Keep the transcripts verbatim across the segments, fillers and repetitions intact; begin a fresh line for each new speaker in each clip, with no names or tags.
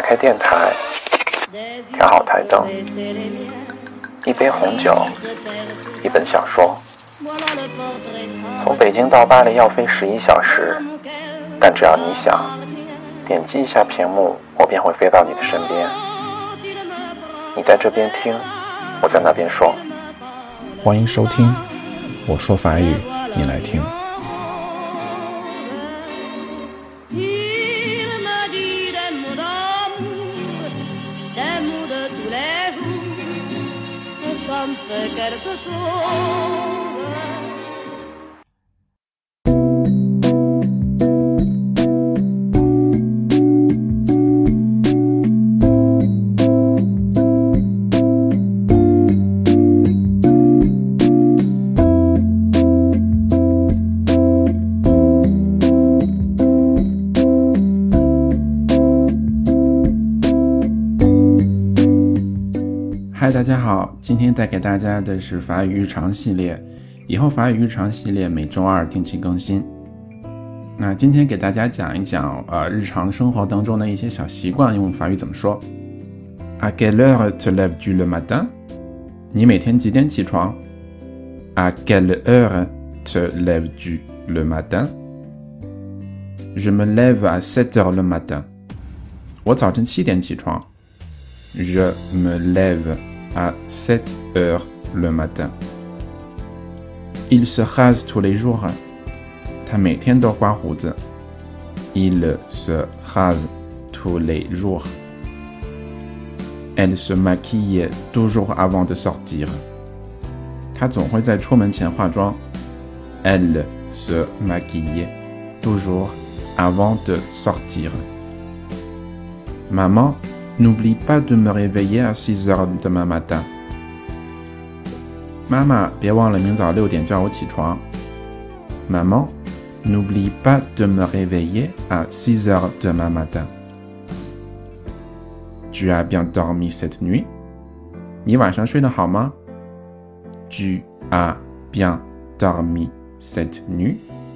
打开电台，调好台灯，一杯红酒，一本小说。从北京到巴黎要飞十一小时，但只要你想，点击一下屏幕，我便会飞到你的身边。你在这边听，我在那边说。欢迎收听，我说法语，你来听。嗨，大家好，今天带给大家的是法语日常系列，以后法语日常系列每周二定期更新。那今天给大家讲一讲呃日常生活当中的一些小习惯，用法语怎么说。À quelle heure te lèves-tu le matin？ 你每天几点起床？ À quelle heure te lèves-tu le matin？ Je me lève à sept heures le matin。 我早晨七点起床。Je me lève à sept heures le matin. Il se rase tous les jours. 他每天都刮胡子。Il se rase tous les jours. Elle se maquille toujours avant de sortir. 他总会在出门前化妆。Elle se maquille toujours avant de sortir. Maman, n'oublie pas de me réveiller à six heures demain matin. 妈妈，别忘了明早六点叫我起床。Maman, n'oublie pas de me réveiller à six heures demain matin. Tu as bien dormi cette nuit? 你晚上睡得好吗？ Tu as bien dormi cette nuit?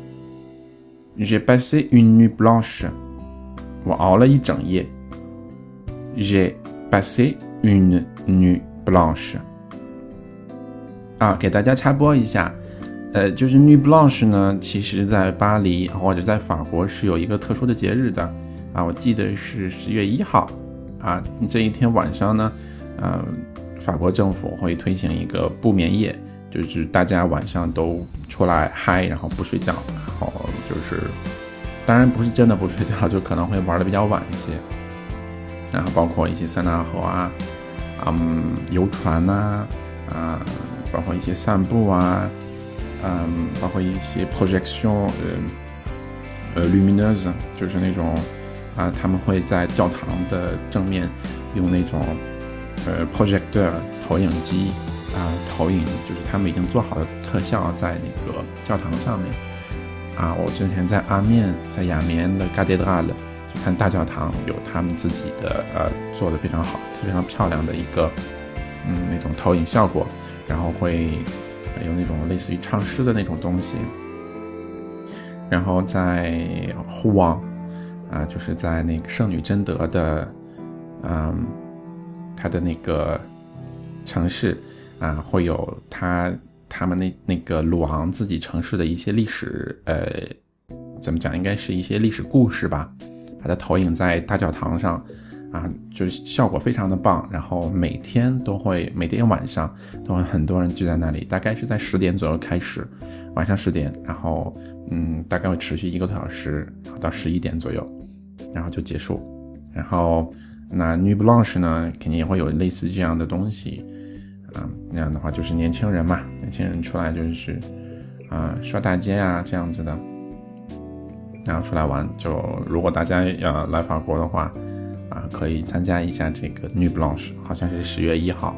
J'ai passé une nuit blanche. 我熬了一整夜。J'ai passé une nuit blanche. 啊，给大家插播一下，呃，就是 nuit blanche 呢，其实在巴黎或者在法国是有一个特殊的节日的啊，我记得是十月一号啊，这一天晚上呢，呃，法国政府会推行一个不眠夜，就是大家晚上都出来嗨，然后不睡觉，然后就是，当然不是真的不睡觉，就可能会玩的比较晚一些。然后包括一些塞纳河啊，嗯，游船啊，啊，包括一些散步啊，嗯，包括一些 projection 呃呃 lumineuse， 就是那种啊，他们会在教堂的正面用那种呃 projecteur 投影机啊投影，就是他们已经做好的特效在那个教堂上面啊。我之前在阿面，在雅眠的 cathédrale。看大教堂有他们自己的呃做的非常好非常漂亮的一个嗯那种投影效果，然后会有那种类似于唱诗的那种东西。然后在呼王啊，就是在那个圣女贞德的嗯他的那个城市啊，会有他他们那那个鲁昂自己城市的一些历史呃怎么讲，应该是一些历史故事吧。把它投影在大教堂上啊，就是效果非常的棒。然后每天都会，每天晚上都会很多人聚在那里，大概是在十点左右开始，晚上十点，然后嗯，大概会持续一个多小时，到十一点左右，然后就结束。然后那 nuit blanche 呢，肯定也会有类似这样的东西啊，那样的话就是年轻人嘛，年轻人出来就是啊刷大街啊这样子的。然后出来玩，就如果大家呃来法国的话，啊，可以参加一下这个 nuit blanche， 好像是十月一号。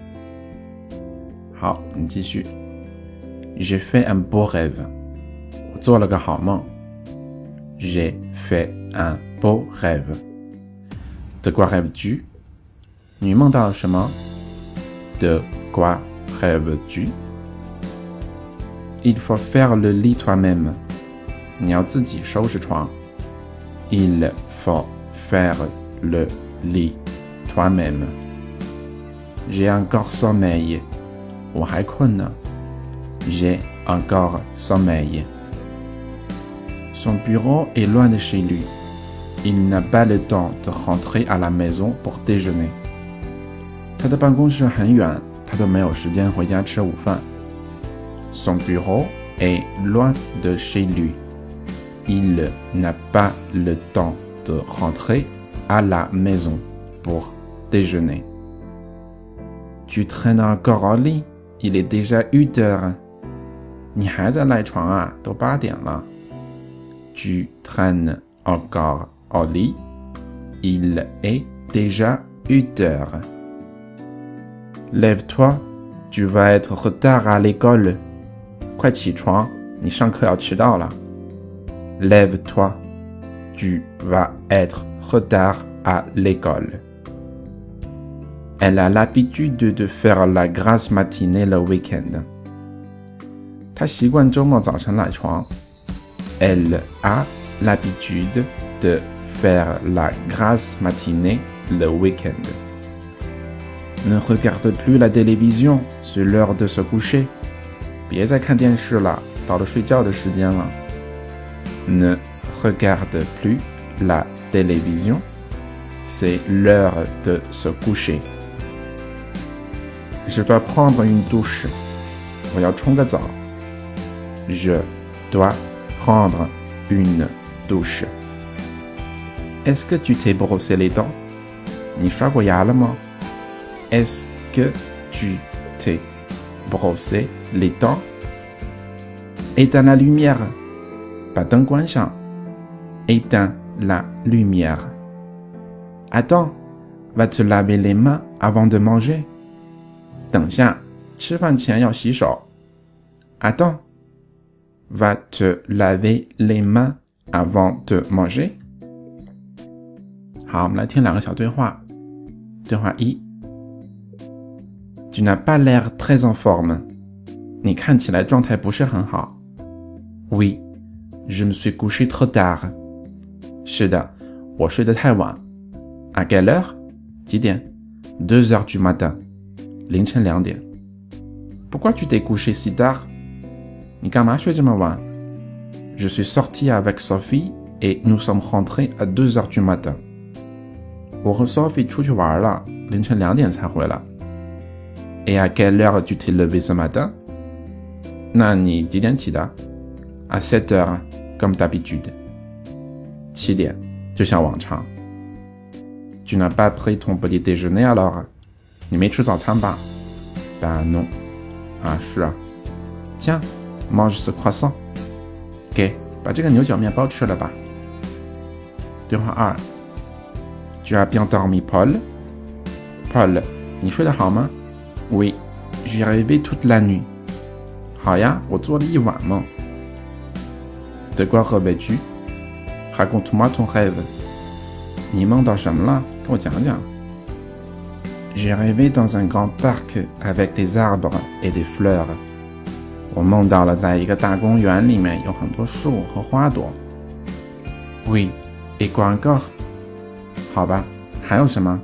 好，你继续。J'ai fait un beau rêve， 我做了个好梦。J'ai fait un beau rêve。De quoi rêves-tu？ 你梦到了什么？ De quoi rêves-tu？ Il faut faire le lit toi-même。你要自己收拾床。Il faut faire le lit toi-même. J'ai encore sommeil. 我还困呢。J'ai encore sommeil. Son bureau est loin de chez lui. Il n'a pas le temps de rentrer à la maison pour déjeuner. 他的办公室很远，他都没有时间回家吃午饭。Son bureau est loin de chez lui. Il n'a pas le temps de rentrer à la maison pour déjeuner. Tu traînes encore au lit? Il est déjà huit heures. 你还在赖床啊？都八点了。Tu traînes encore au lit? Il est déjà huit heures. Lève-toi, tu vas être retard à l'école. 快起床，你上课要迟到了。Lève-toi, tu vas être retard à l'école. Elle a l'habitude de faire la grasse matinée le week-end. 她习惯周末早晨赖床。Elle a l'habitude de faire la grasse matinée le week-end. Ne regarde plus la télévision, c'est l'heure de se coucher. 别再看电视了，到了睡觉的时间了。Ne regarde plus la télévision, c'est l'heure de se coucher. Je dois prendre une douche. 我要冲个澡。Je dois prendre une douche. Est-ce que tu t'es brossé les dents? 你刷过牙了吗？ Est-ce que tu t'es brossé les dents? Éteins la lumière. 把灯关上。Éteins la lumière. Attends, va te laver les mains avant de manger. 等下，吃饭前要洗手。Attends, va te laver les mains avant de manger. 好，我们来听两个小对话。对话一。Tu n'as pas l'air très en forme. 你看起来状态不是很好。Oui, je me suis couché trop tard. 是的，我睡得太晚。À quelle heure? 几点？ Deux heures du matin. 凌晨两点。Pourquoi tu t'es couché si tard? 你干嘛睡这么晚？ Je suis sorti avec Sophie et nous sommes rentrés à deux heures du matin. 我和 Sophie 出去玩了，凌晨两点才回来。Et à quelle heure tu t'es levé ce matin? 那你几点起的？ À sept heures, comme d'habitude. 七点，就像往常。Tu n'as pas pris ton petit déjeuner alors? 你没吃早餐吧？ Ben non. 啊，是啊。Tiens, mange ce croissant. 给，把这个牛角面包吃了吧。对话二。Tu as bien dormi, Paul? Paul, 你睡得好吗？ Oui, j'ai rêvé toute la nuit. 好呀，我做了一晚梦。De quoi rêvais-tu? Raconte-moi ton rêve. 你梦到什么了？跟我讲讲。J'ai rêvé dans un grand parc avec des arbres et des fleurs. 我梦到了在一个大公园里面有很多树和花朵。Oui, et quoi encore? 好吧，还有什么？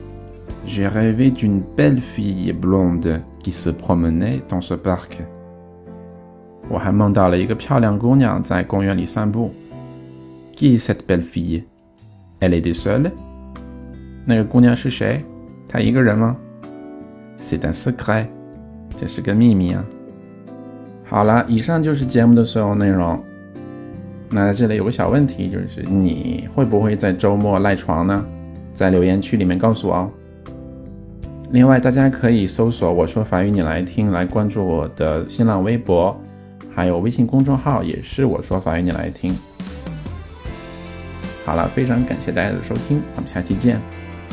J'ai rêvé d'une belle fille blonde qui se promenait dans ce parc. 我还梦到了一个漂亮姑娘在公园里散步。Qui est cette belle fille? Elle était seule? 那个姑娘是谁？她一个人吗？ C'est un secret. 这是个秘密啊。好了，以上就是节目的所有内容。那在这里有个小问题，就是你会不会在周末赖床呢？在留言区里面告诉我哦。另外，大家可以搜索我说法语你来听，来关注我的新浪微博，还有微信公众号，也是我说法语你来听。好了，非常感谢大家的收听，我们下期见。